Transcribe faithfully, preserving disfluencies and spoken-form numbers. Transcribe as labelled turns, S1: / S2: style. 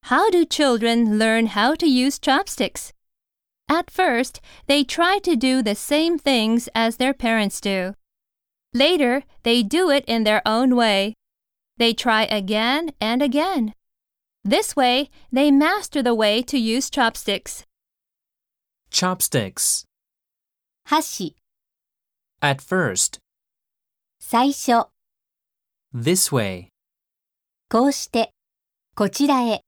S1: How do children learn how to use chopsticks? At first, they try to do the same things as their parents do. Later, they do it in their own way. They try again and again. This way, they master the way to use chopsticks.
S2: Chopsticks.
S3: 箸、
S2: At first.
S3: 最初、
S2: This way.
S3: こうして、こちらへ。